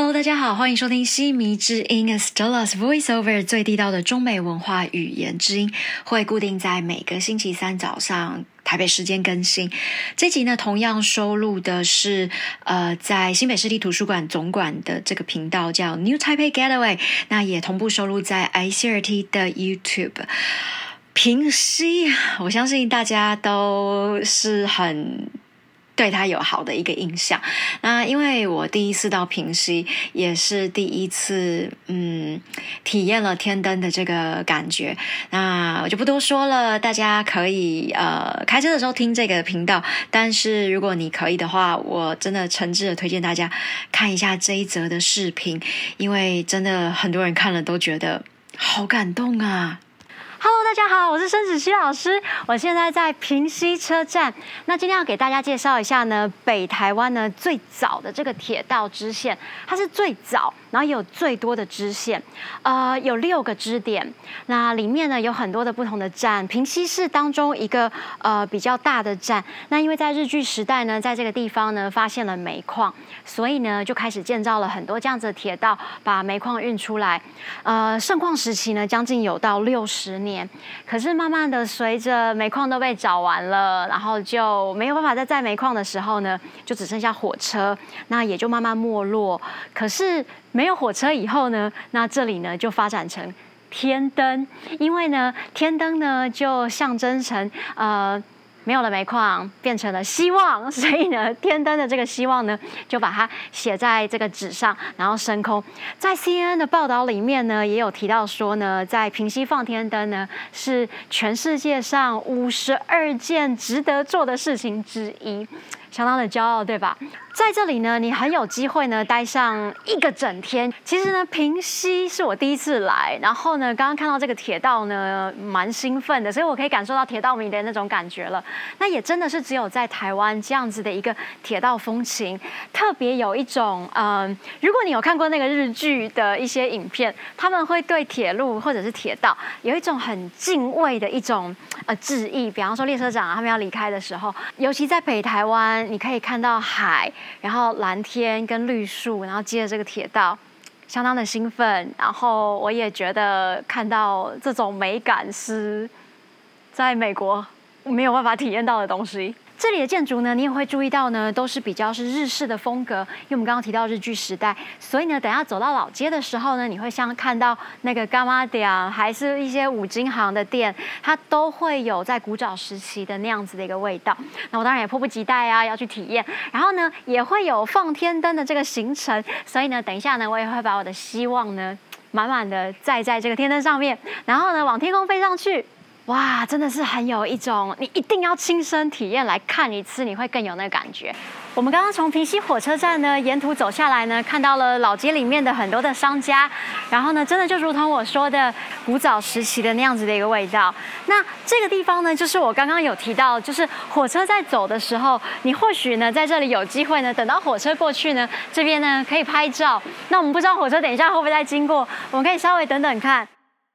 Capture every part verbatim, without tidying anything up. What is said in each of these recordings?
Hello， 大家好，欢迎收听西迷之音 Stella's Voiceover 最地道的中美文化语言之音，会固定在每个星期三早上台北时间更新。这集呢，同样收录的是呃，在新北市立图书馆总馆的这个频道叫 New Taipei Getaway， 那也同步收录在 I C R T 的 YouTube。平溪，我相信大家都是很对他有好的一个印象。那因为我第一次到平溪，也是第一次嗯体验了天灯的这个感觉。那我就不多说了，大家可以呃开车的时候听这个频道。但是如果你可以的话，我真的诚挚的推荐大家看一下这一则的视频，因为真的很多人看了都觉得好感动啊。 Hello， 大家好，我是申子熙老师，我现在在平溪车站。那今天要给大家介绍一下呢，北台湾呢最早的这个铁道支线，它是最早，然后也有最多的支线，呃，有六个支点。那里面呢有很多的不同的站，平溪是当中一个呃比较大的站。那因为在日据时代呢，在这个地方呢发现了煤矿，所以呢就开始建造了很多这样子的铁道，把煤矿运出来。呃，盛况时期呢，将近有到六十年。可是慢慢的，随着煤矿都被找完了，然后就没有办法再载煤矿的时候呢，就只剩下火车，那也就慢慢没落。可是没有火车以后呢，那这里呢就发展成天灯，因为呢天灯呢就象征成呃。没有了煤矿，变成了希望，所以呢，天灯的这个希望呢，就把它写在这个纸上，然后升空。在 C N N 的报道里面呢，也有提到说呢，在平溪放天灯呢，是全世界上五十二件值得做的事情之一，相当的骄傲，对吧？在这里呢，你很有机会呢待上一个整天。其实呢，平溪是我第一次来，然后呢，刚刚看到这个铁道呢，蛮兴奋的，所以我可以感受到铁道迷的那种感觉了。那也真的是只有在台湾这样子的一个铁道风情，特别有一种嗯、呃，如果你有看过那个日剧的一些影片，他们会对铁路或者是铁道有一种很敬畏的一种呃致意。比方说列车长啊，他们要离开的时候，尤其在北台湾，你可以看到海。然后蓝天跟绿树，然后接着这个铁道，相当的兴奋。然后我也觉得看到这种美感是在美国没有办法体验到的东西。这里的建筑呢，你也会注意到呢，都是比较是日式的风格，因为我们刚刚提到日据时代，所以呢，等下走到老街的时候呢，你会像看到那个干妈店，还是一些五金行的店，它都会有在古早时期的那样子的一个味道。那我当然也迫不及待啊，要去体验。然后呢，也会有放天灯的这个行程，所以呢，等一下呢，我也会把我的希望呢，满满的载在这个天灯上面，然后呢，往天空飞上去。哇，真的是很有一种，你一定要亲身体验来看一次，你会更有那个感觉。我们刚刚从平溪火车站呢，沿途走下来呢，看到了老街里面的很多的商家，然后呢，真的就如同我说的，古早时期的那样子的一个味道。那这个地方呢，就是我刚刚有提到，就是火车在走的时候，你或许呢在这里有机会呢，等到火车过去呢，这边呢可以拍照。那我们不知道火车等一下会不会再经过，我们可以稍微等等看。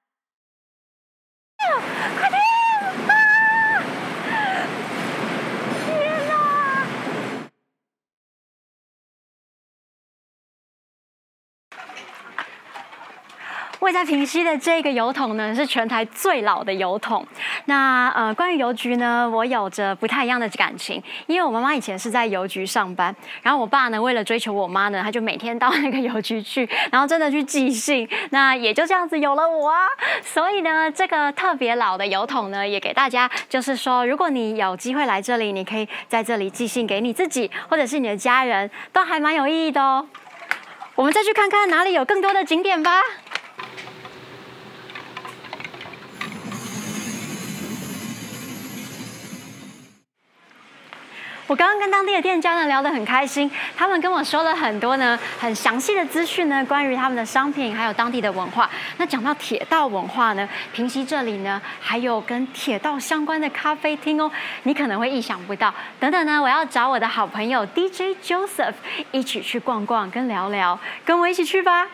快点！啊！天哪！位在平溪的这个邮筒呢，是全台最老的邮筒。那呃，关于邮局呢，我有着不太一样的感情，因为我妈妈以前是在邮局上班，然后我爸呢，为了追求我妈呢，他就每天到那个邮局去，然后真的去寄信。那也就这样子有了我啊。所以呢，这个特别老的邮筒呢，也给大家就是说，如果你有机会来这里，你可以在这里寄信给你自己或者是你的家人，都还蛮有意义的哦。我们再去看看哪里有更多的景点吧。我刚刚跟当地的店家呢聊得很开心，他们跟我说了很多呢很详细的资讯呢，关于他们的商品还有当地的文化。那讲到铁道文化呢，平溪这里呢还有跟铁道相关的咖啡厅哦，你可能会意想不到。等等呢，我要找我的好朋友 D J Joseph 一起去逛逛跟聊聊，跟我一起去吧。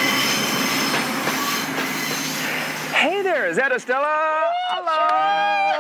Hey there, is that Estella? Hello.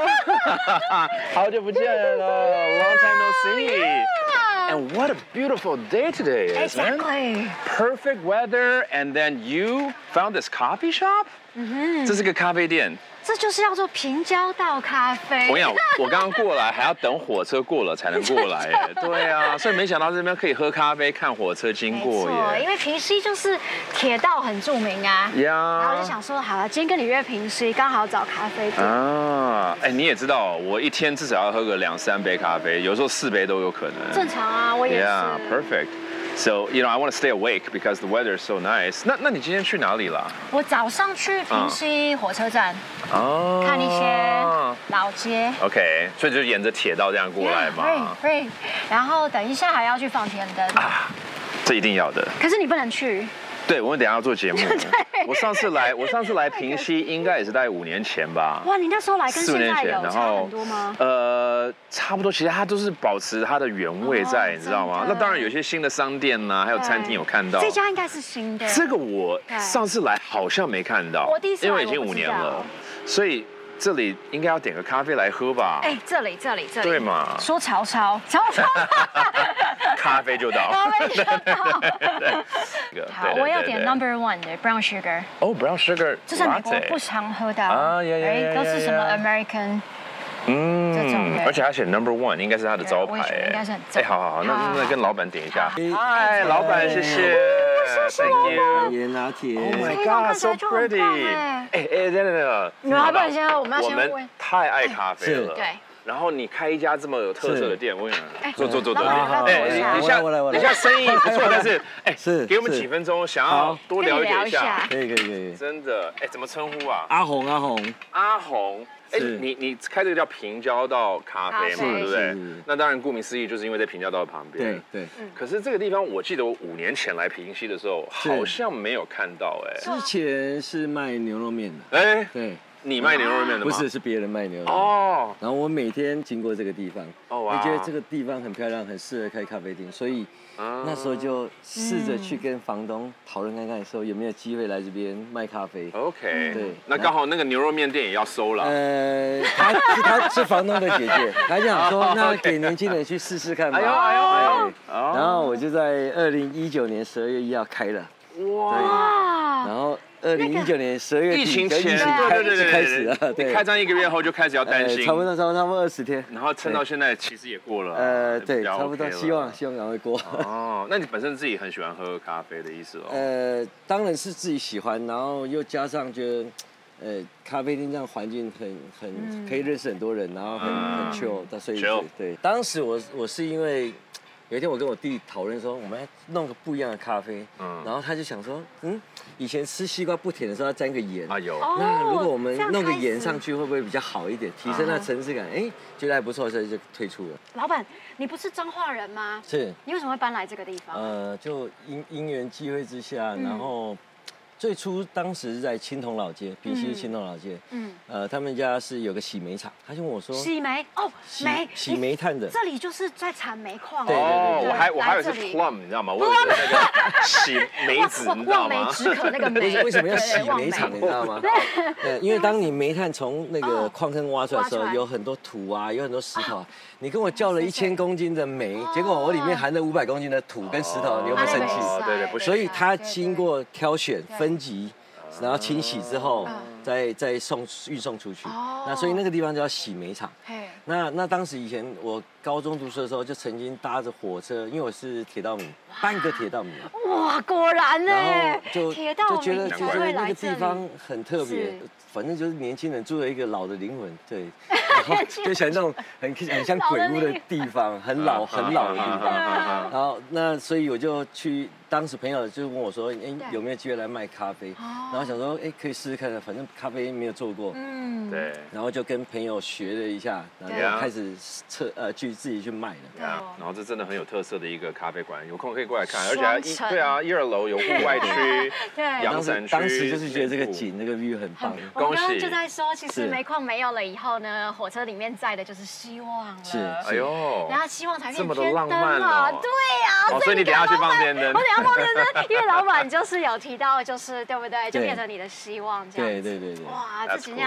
好久不见了 ，Long time no see. And what a beautiful day today is, man. Exactly. Perfect weather, and then you found this coffee shop? 嗯哼，这是个咖啡店。 这就是要做平交道咖啡。 我跟你讲，我刚刚过来还要等火车过了才能过来耶。对啊，所以没想到这边可以喝咖啡、看火车经过耶。 因为平溪就是铁道很著名啊。 呀。 然后我就想说，好了，今天跟你约平溪，刚好找咖啡店。 啊，哎，你也知道，我一天至少要喝个两三杯咖啡，有时候四杯都有可能。 正常啊，我也是。 Yeah, perfect. So, you know, I want to stay awake because the weather is so nice. 那那你今天去哪里了？ 我早上去平溪火车站，哦，看一些老街。 OK， 所以就沿着铁道这样过来嘛。 对对。然后等一下还要去放天灯啊， 这一定要的。 可是你不能去。 对，我们等一下要做节目。我上次来，我上次来平溪应该也是大概五年前吧。 哇，你那时候来跟现在有差很多吗？ 呃，差不多，其实它都是保持它的原味在，你知道吗？那当然有些新的商店呐，还有餐厅有看到。 这家应该是新的。 这个我上次来好像没看到， 我第一次来， 因为已经五年了，所以。这里应该要点个咖啡来喝吧？ 哎，这里这里这里， 对嘛？ 说潮潮潮潮， 咖啡就到， 咖啡就到。好，我要点 number one 的 brown sugar。 哦 ，brown sugar， 这是美国不常喝的啊，哎，都是什么 American。 嗯，而且他写 number one， 应该是他的招牌哎。 应该是很正。 哎，好好好，那那跟老板点一下。嗨，老板，谢谢 ，Thank you。 椰拿铁。 Oh my god, so pretty！ 哎哎，等等等， 你们要不然先，我们要先问。 我们太爱咖啡了。 对。 然后你开一家这么有特色的店，我想坐坐坐坐。 哎， 你下你下生意不错，但是哎， 是给我们几分钟，想要多了解一下。 可以可以可以。 真的，哎，怎么称呼啊？ 阿红阿红阿红。哎，你你开这个叫平交道咖啡嘛，对不对？那当然，顾名思义，就是因为在平交道旁边。 对对。 可是这个地方，我记得我五年前来平溪的时候，好像没有看到哎。 之前是卖牛肉面的。 哎， 对。 你卖牛肉面的吗？ 不是，是别人卖牛肉面。哦。然后我每天经过这个地方，哦哇，觉得这个地方很漂亮，很适合开咖啡厅，所以那时候就试着去跟房东讨论看看，说有没有机会来这边卖咖啡。 OK。对。那刚好那个牛肉面店也要收了。 呃，她是她是房东的姐姐，她想说那给年轻人去试试看吧。哎呦哎呦。然后我就在二零一九年十二月一号开了。哇。然后。二零一九年十二月底， 疫情前， 对对对，开始了。对， 开张一个月后就开始要担心， 差不多差不多差不多二十天， 然后撑到现在其实也过了。 呃，对，差不多，希望希望赶快过。 哦，那你本身自己很喜欢喝咖啡的意思哦？ 呃，当然是自己喜欢，然后又加上觉得，呃，咖啡厅这样环境很很可以认识很多人，然后很很 chill，所以对，当时我我是因为。有一天我跟我弟讨论说，我们要弄个不一样的咖啡，嗯，然后他就想说，嗯，以前吃西瓜不甜的时候要沾个盐，啊有，那如果我们弄个盐上去，会不会比较好一点，提升那层次感？哎，觉得还不错，所以就推出了。 老板，你不是彰化人吗？ 是。 你为什么会搬来这个地方？ 呃，就因因缘际会之下，然后。最初当时在青铜老街，平溪青铜老街，嗯，呃，他们家是有个洗煤厂，他就问我说， 洗煤哦，煤洗煤炭的， 这里就是在产煤矿。 对对对， 我还我还以为是 plum， 你知道吗？我以为是那个洗煤子，你知道吗？ 望梅止渴那个煤。 为什么要洗煤厂？你知道吗？对，因为当你煤炭从那个矿坑挖出来的时候，有很多土啊，有很多石头。你跟我叫了一千公斤的煤，结果我里面含了五百公斤的土跟石头，你有没有生气？ 对对，不是。 所以它经过挑选、分级，然后清洗之后，再再送运送出去。那所以那个地方叫洗煤厂。那那当时以前我高中读书的时候，就曾经搭着火车，因为我是铁道迷，半个铁道迷。 哇，果然呢。 然后就就觉得就觉得那个地方很特别，反正就是年轻人住了一个老的灵魂，对。然后就想那种很很像鬼屋的地方，很老很老的地方。然后那所以我就去，当时朋友就问我说，哎，有没有机会来卖咖啡？然后想说，哎，可以试试看，反正咖啡没有做过。嗯， 对。 然后就跟朋友学了一下，然后开始测呃去自己去卖了。 对啊。然后这真的很有特色的一个咖啡馆，有空可以过来看，而且还一对啊，一二楼有户外区，阳伞区。 当时就是觉得这个景那个 view 很棒。 恭喜！我刚刚就在说，其实煤矿没有了以后呢，火车里面载的就是希望了。 是， 哎呦， 然后希望才变这么的浪漫哦。 对呀， 所以你等下去放电灯。 我等下放电灯，因为老板就是有提到，就是对不对？就变成你的希望这样。 对对对对。 哇，这几样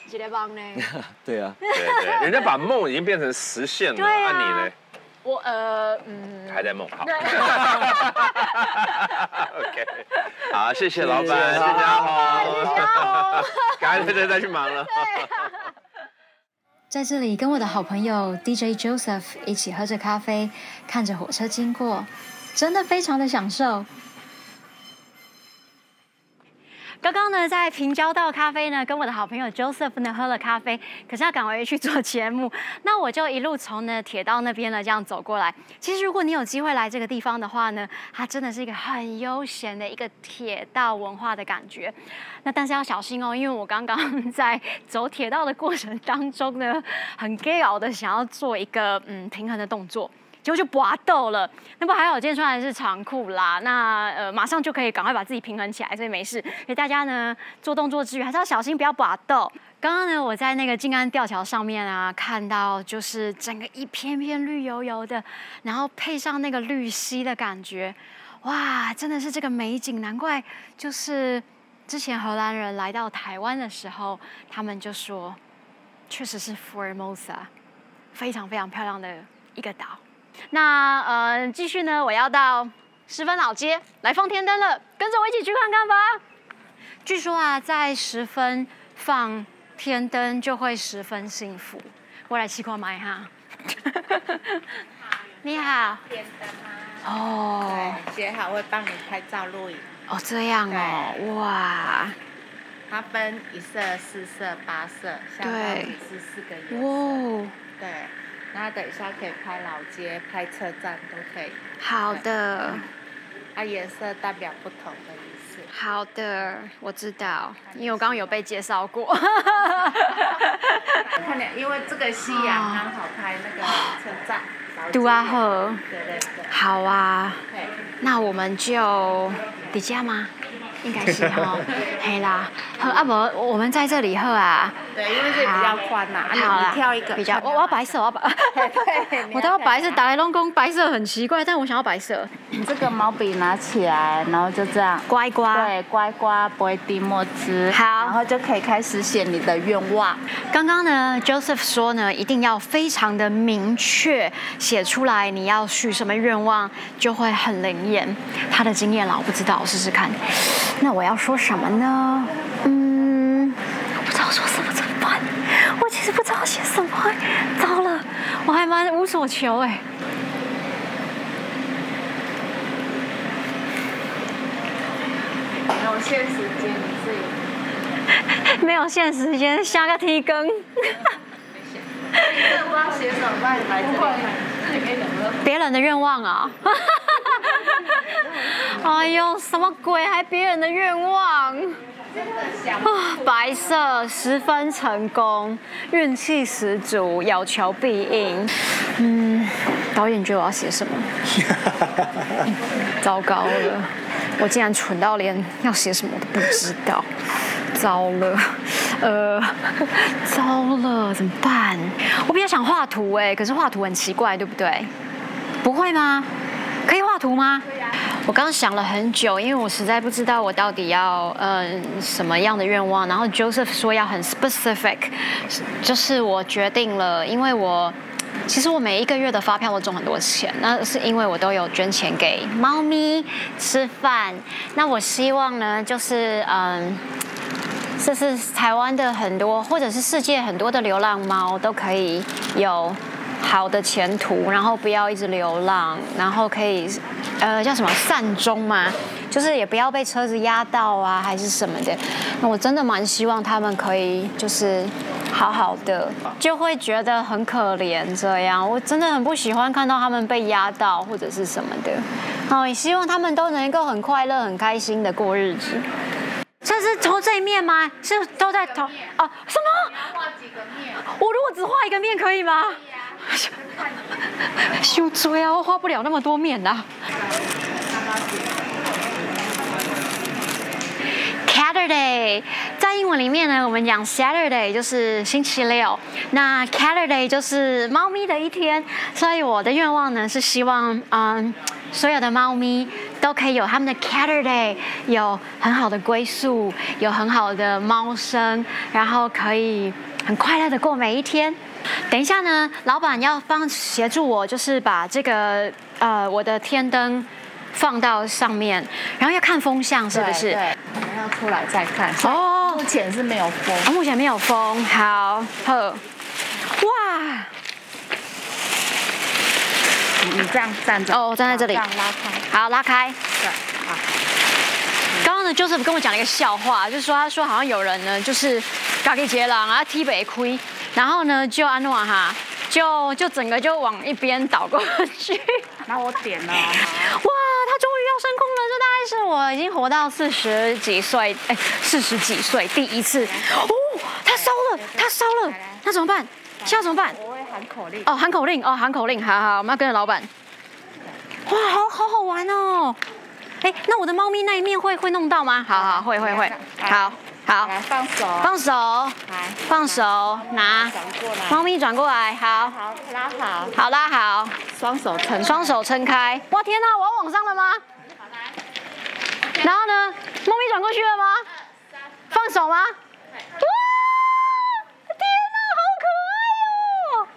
几个棒呢？ 对啊， 对对，人家把梦已经变成实现了， 对啊， 那你呢？ 我呃嗯， 还在梦，好。OK， 好，谢谢老板，谢谢阿红， 谢谢阿红， 赶快再再去忙了。 在这里跟我的好朋友 D J Joseph 一起喝着咖啡，看着火车经过，真的非常的享受。 刚刚呢，在平交道咖啡呢，跟我的好朋友 Joseph 呢喝了咖啡，可是要赶回去做节目，那我就一路从呢铁道那边呢这样走过来。其实如果你有机会来这个地方的话呢，它真的是一个很悠闲的一个铁道文化的感觉。那但是要小心哦，因为我刚刚在走铁道的过程当中呢，很 gay 熬的想要做一个嗯平衡的动作。结果就拔豆了，那不还好，今天穿的是长裤啦，那呃马上就可以赶快把自己平衡起来，所以没事。所以大家呢做动作之余还是要小心，不要拔豆。刚刚呢我在那个静安吊桥上面啊，看到就是整个一片片绿油油的，然后配上那个绿溪的感觉，哇，真的是这个美景，难怪就是之前荷兰人来到台湾的时候，他们就说，确实是 Formosa， 非常非常漂亮的一个岛。那呃，继续呢，我要到十分老街来放天灯了，跟着我一起去看看吧。据说啊，在十分放天灯就会十分幸福。我来试看买哈。你好。 天灯啊。 哦。 对，写好会帮你拍照录影。 哦，这样哦，哇。 它分一色、四色、八色，相当于是四个颜色。 哇。 对。那等一下可以拍老街、拍车站都可以。 好的。 它颜色代表不同的意思。 好的，我知道，因为我刚刚有被介绍过。 看点，因为这个夕阳刚好拍那个车站。 杜阿赫。 对对对。 好啊。那我们就底下吗？应该是哈，嘿啦，喝啊不，我们在这里喝啊。 对，因为这比较宽呐，好啦，你挑一个。 比较，我我要白色，我要白。对，我都要白色，打来龙宫白色很奇怪，但我想要白色。 这个毛笔拿起来，然后就这样， 乖乖。 对，乖乖不会滴墨汁。 好， 然后就可以开始写你的愿望。 刚刚呢 ，Joseph 说呢，一定要非常的明确写出来，你要许什么愿望，就会很灵验。他的经验啦，我不知道，我试试看。那我要说什么呢？嗯，我不知道说什么怎么办？我其实不知道写什么，糟了，我还蛮无所求哎。 没有限时间，你自己。 没有限时间，下个提更。 你这不知道写什么，那你来这里。 别人的愿望啊！哎呦，什么鬼？还别人的愿望？啊，白色十分成功，运气十足，有求必应。嗯，导演觉得我要写什么？糟糕了，我竟然蠢到连要写什么都不知道。糟了，呃，糟了，怎么办？我比较想画图哎，可是画图很奇怪，对不对？不会吗？可以画图吗？我刚刚想了很久，因为我实在不知道我到底要嗯什么样的愿望。然后 Joseph 说要很 specific， 就是我决定了，因为我其实我每一个月的发票都中很多钱，那是因为我都有捐钱给猫咪吃饭。那我希望呢，就是嗯。这是台湾的很多，或者是世界很多的流浪猫都可以有好的前途，然后不要一直流浪，然后可以，呃，叫什么善终嘛，就是也不要被车子压到啊，还是什么的。那我真的蛮希望他们可以就是好好的，就会觉得很可怜这样。我真的很不喜欢看到他们被压到或者是什么的。哦，也希望他们都能够很快乐、很开心的过日子。这是投这一面吗？是都在投哦？什么？ 画几个面？ 我如果只画一个面可以吗？羞追啊！我画不了那么多面啦。Saturday 在英文里面呢，我们讲 Saturday 就是星期六，那 Saturday 就是猫咪的一天，所以我的愿望呢是希望，嗯，所有的猫咪都可以有他们的 Catter Day， 有很好的归宿，有很好的猫声，然后可以很快乐的过每一天。等一下呢，老板要帮协助我，就是把这个呃我的天灯放到上面，然后要看风向是不是？ 对，我们要出来再看。 哦， 目前是没有风。 哦，目前没有风。好，呵，哇！ 你这样站着。 哦，站在这里。 这样拉开。 好，拉开。 对，好。 刚刚呢，Joseph跟我讲了一个笑话，就是说他说好像有人呢，就是咖喱杰郎啊，踢北亏，然后呢就安诺哈，就就整个就往一边倒过去。 然后我点了。哇， 他终于要升空了，这大概是我已经活到四十几岁，哎，四十几岁第一次。哦，他烧了，他烧了，那怎么办？现在怎么办？ 我会喊口令。 哦，喊口令，哦，喊口令，好好，我们要跟着老板。哇，好好好玩哦！哎，那我的猫咪那一面会会弄到吗？好好，会会会，好好。 来放手。 放手。 来， 放手，拿。 转过来。 猫咪转过来，好。 好，拉好。 好，拉好。 双手撑。 双手撑开。哇，天哪，我要往上了吗？ 好来。 然后呢？猫咪转过去了吗？放手吗？哇！天哪，好可爱哦！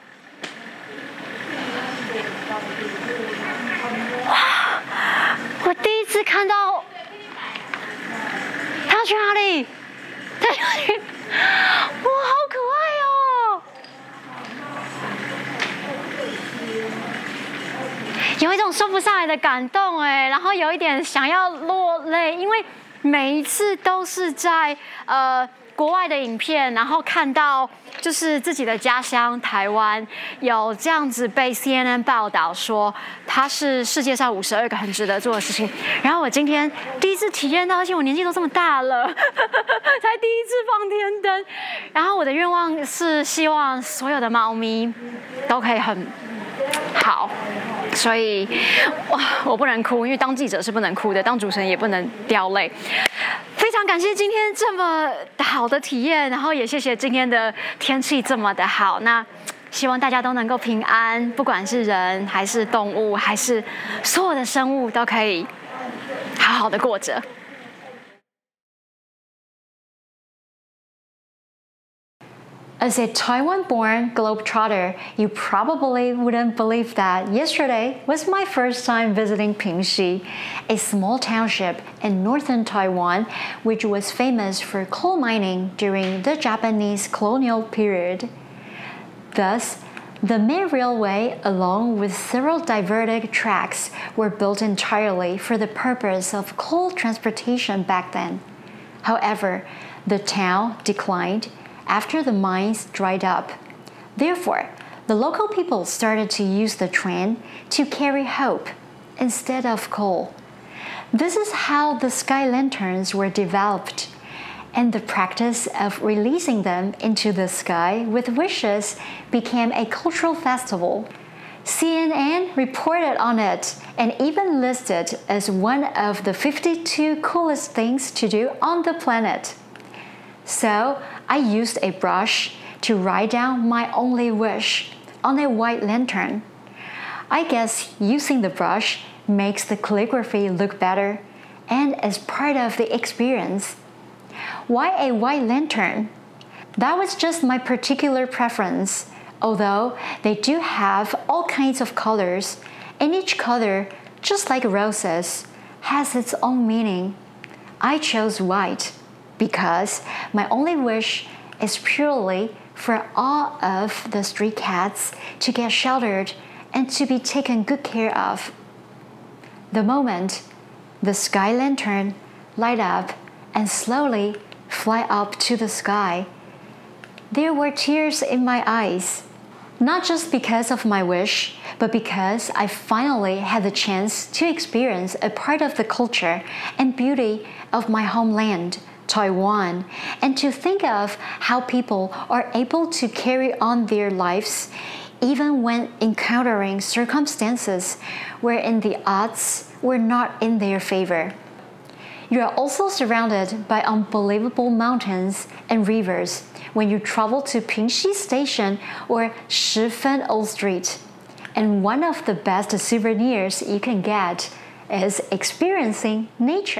哇！我第一次看到，它要去哪里？它要去，哇，好可爱哦！有一种说不上来的感动哎，然后有一点想要落泪，因为每一次都是在呃国外的影片，然后看到就是自己的家乡台湾有这样子被 C N N 报道说它是世界上五十二个很值得做的事情，然后我今天第一次体验到，而且我年纪都这么大了，才第一次放天灯，然后我的愿望是希望所有的猫咪都可以很好。所以，哇，我不能哭，因为当记者是不能哭的，当主持人也不能掉泪。非常感谢今天这么好的体验，然后也谢谢今天的天气这么的好。那希望大家都能够平安，不管是人还是动物，还是所有的生物，都可以好好的过着。As a Taiwan-born globetrotter, you probably wouldn't believe that yesterday was my first time visiting Pingxi, a small township in northern Taiwan, which was famous for coal mining during the Japanese colonial period. Thus, the main railway, along with several diverted tracks, were built entirely for the purpose of coal transportation back then. However, the town declined after the mines dried up. Therefore, the local people started to use the train to carry hope instead of coal. This is how the sky lanterns were developed, and the practice of releasing them into the sky with wishes became a cultural festival. C N N reported on it and even listed as one of the fifty-two coolest things to do on the planet. So, I used a brush to write down my only wish on a white lantern. I guess using the brush makes the calligraphy look better and is part of the experience. Why a white lantern? That was just my particular preference, although they do have all kinds of colors, and each color, just like roses, has its own meaning. I chose white because my only wish is purely for all of the stray cats to get sheltered and to be taken good care of. The moment the sky lantern light up and slowly fly up to the sky, there were tears in my eyes. Not just because of my wish, but because I finally had the chance to experience a part of the culture and beauty of my homeland, Taiwan, and to think of how people are able to carry on their lives even when encountering circumstances wherein the odds were not in their favor. You are also surrounded by unbelievable mountains and rivers when you travel to Pingxi Station or Shifen Old Street. And one of the best souvenirs you can get is experiencing nature.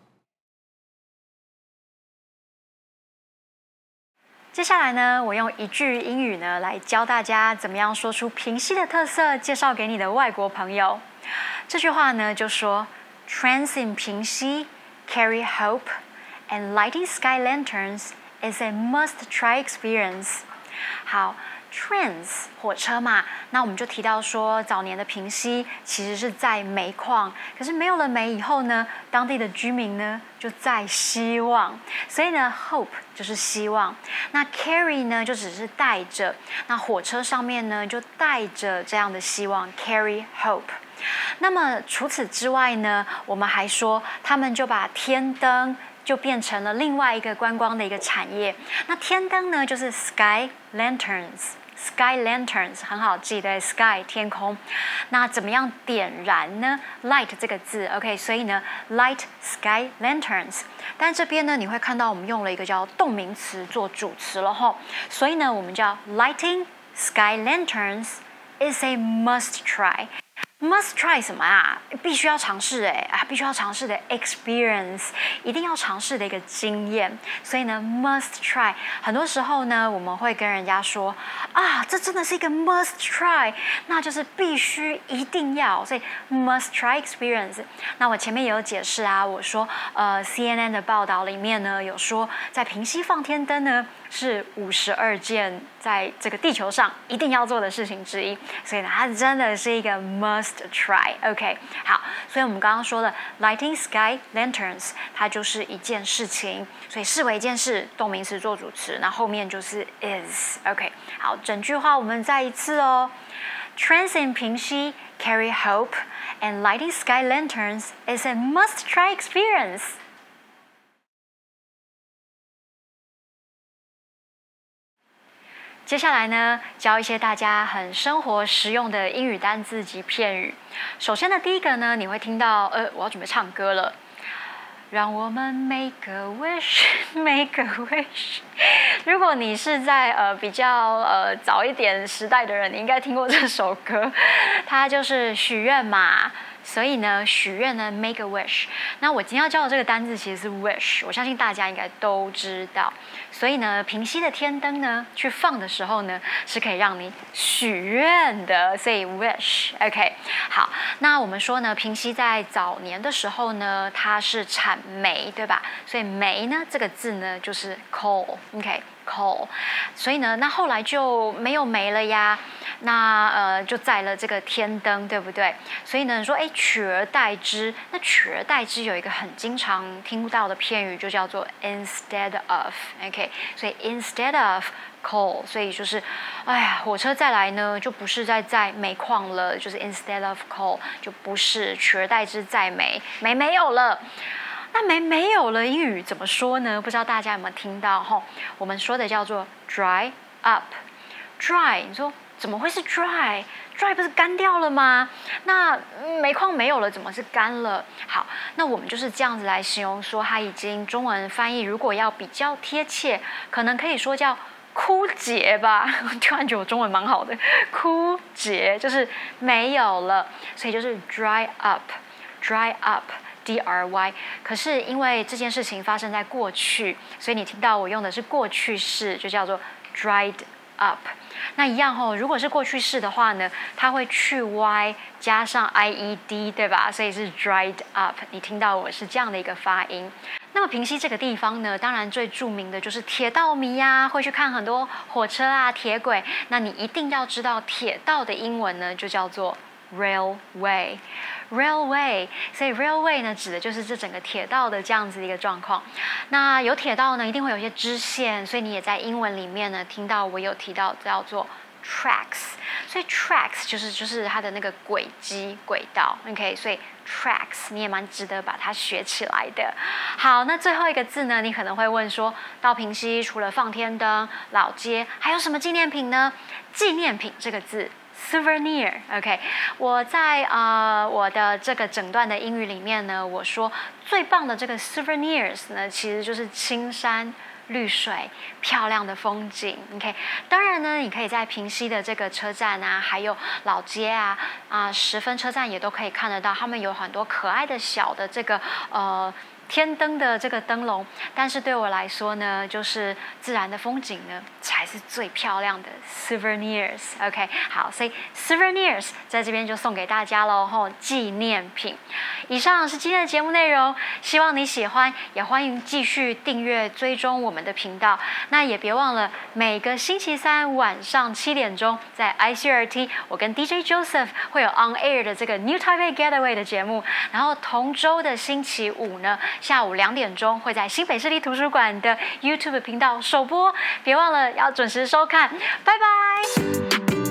接下来呢，我用一句英语呢来教大家怎么样说出平溪的特色，介绍给你的外国朋友。这句话呢就说 Trains in 平溪 carry hope and lighting sky lanterns is a must-try experience. 好。Trains 火车嘛，那我们就提到说，早年的平溪其实是在煤矿，可是没有了煤以后呢，当地的居民呢就在希望，所以呢 hope 就是希望，那 carry 呢就只是带着，那火车上面呢就带着这样的希望 carry hope。那么除此之外呢，我们还说他们就把天灯就变成了另外一个观光的一个产业。那天灯呢，就是 sky lanterns。Sky lanterns 很好记的 ，sky 天空。那怎么样点燃呢 ？Light 这个字 ，OK， 所以呢 ，light sky lanterns。但这边呢，你会看到我们用了一个叫动名词做主词了吼，所以呢，我们叫 lighting sky lanterns is a must try。Must try 什么啊？必须要尝试哎啊，必须要尝试的 experience， 一定要尝试的一个经验。所以呢 ，must try， 很多时候呢，我们会跟人家说啊，这真的是一个 must try， 那就是必须一定要，所以 must try experience。那我前面也有解释啊，我说呃 C N N 的报道里面呢有说，在平溪放天灯呢是五十二件在这个地球上一定要做的事情之一，所以呢，它真的是一个 must try。OK， 好，所以我们刚刚说的 lighting sky lanterns， 它就是一件事情，所以视为一件事，动名词做主词，那后面就是 is。OK， 好，整句话我们再一次哦。Trains in 平溪 carry hope, and lighting sky lanterns is a must-try experience. 接下来呢，教一些大家很生活实用的英语单字及片语。首先呢，第一个呢，你会听到，呃，我要准备唱歌了。让我们 make a wish, make a wish。如果你是在呃比较呃早一点时代的人，你应该听过这首歌，它就是许愿嘛。所以呢，许愿呢 make a wish。那我今天要教的这个单字其实是 wish， 我相信大家应该都知道。所以呢，平溪的天灯呢，去放的时候呢，是可以让你许愿的，所以 wish。OK， 好，那我们说呢，平溪在早年的时候呢，它是产煤，对吧？所以煤呢这个字呢就是 coal。OK。coal， 所以呢，那后来就没有煤了呀，那呃就载了这个天灯，对不对？所以呢，你说哎取而代之，那取而代之有一个很经常听到的片语，就叫做 instead of。OK， 所以 instead of coal， 所以就是哎呀，火车再来呢，就不是在载煤矿了，就是 instead of coal， 就不是取而代之载煤，煤没有了。那没没有了，英语怎么说呢？不知道大家有没有听到哈？我们说的叫做 dry up。dry， 你说怎么会是 dry？dry 不是干掉了吗？那煤矿没有了，怎么是干了？好，那我们就是这样子来形容说，它已经中文翻译，如果要比较贴切，可能可以说叫枯竭吧。突然觉得我中文蛮好的，枯竭就是没有了，所以就是 dry up，dry up。D R Y， 可是因为这件事情发生在过去，所以你听到我用的是过去式，就叫做 dried up。那一样哦，如果是过去式的话呢，它会去 Y 加上 I E D， 对吧？所以是 dried up。你听到我是这样的一个发音。那么平溪这个地方呢，当然最著名的就是铁道迷呀、啊，会去看很多火车啊、铁轨。那你一定要知道铁道的英文呢，就叫做 railway。railway， 所以 railway 呢指的就是这整个铁道的这样子的一个状况。那有铁道呢，一定会有一些支线，所以你也在英文里面呢听到我有提到叫做 tracks， 所以 tracks 就是就是它的那个轨迹轨道 ，OK， 所以 tracks 你也蛮值得把它学起来的。好，那最后一个字呢，你可能会问说，到平溪除了放天灯、老街，还有什么纪念品呢？纪念品这个字。Souvenir，OK， 我在呃我的这个整段的英语里面呢，我说最棒的这个 souvenirs 呢，其实就是青山绿水、漂亮的风景。OK， 当然呢，你可以在平溪的这个车站啊，还有老街啊、啊十分车站也都可以看得到，他们有很多可爱的小的这个呃。天灯的这个灯笼，但是对我来说呢，就是自然的风景呢，才是最漂亮的 souvenirs。OK， 好，所以 souvenirs 在这边就送给大家喽，吼，纪念品。以上是今天的节目内容，希望你喜欢，也欢迎继续订阅追踪我们的频道。那也别忘了每个星期三晚上七点钟，在 I C R T， 我跟 D J Joseph 会有 on air 的这个 New Taipei Getaway 的节目。然后同周的星期五呢，下午两点钟会在新北市立图书馆的 YouTube 频道首播，别忘了要准时收看，拜拜。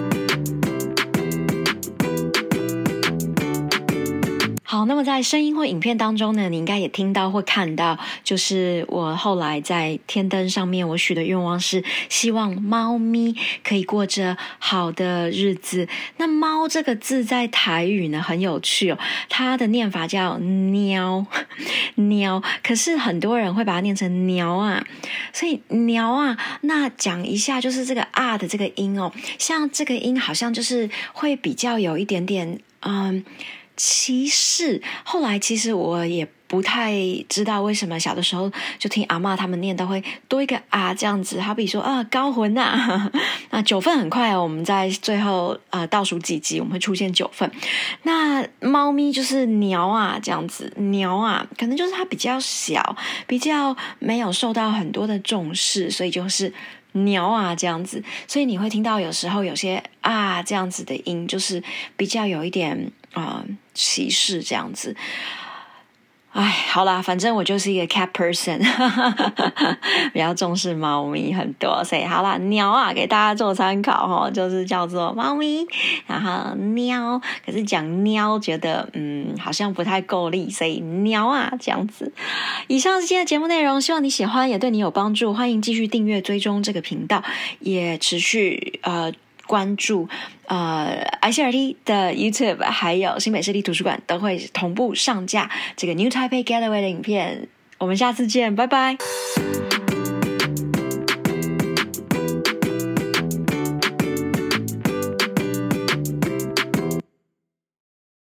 好，那么在声音或影片当中呢，你应该也听到或看到，就是我后来在天灯上面我许的愿望是希望猫咪可以过着好的日子。那猫这个字在台语呢很有趣哦，它的念法叫喵喵，可是很多人会把它念成鸟啊，所以鸟啊，那讲一下就是这个啊的这个音哦，像这个音好像就是会比较有一点点嗯歧视。后来其实我也不太知道为什么，小的时候就听阿嬷他们念都会多一个啊这样子，好比说啊高魂啊，那九份很快哦，我们在最后呃倒数几集我们会出现九份。那猫咪就是鸟啊这样子，鸟啊可能就是它比较小，比较没有受到很多的重视，所以就是鸟啊这样子，所以你会听到有时候有些啊这样子的音，就是比较有一点啊、呃、歧视这样子。哎，好啦，反正我就是一个 cat person， 比较重视猫咪很多，所以好啦，鸟啊给大家做参考哦，就是叫做猫咪，然后喵，可是讲喵觉得嗯好像不太够力，所以鸟啊这样子。以上是今天的节目内容，希望你喜欢，也对你有帮助，欢迎继续订阅追踪这个频道，也持续呃。关注呃 I C R T 的 YouTube， 还有新北市立图书馆都会同步上架这个 New Taipei Getaway 的影片。我们下次见，拜拜。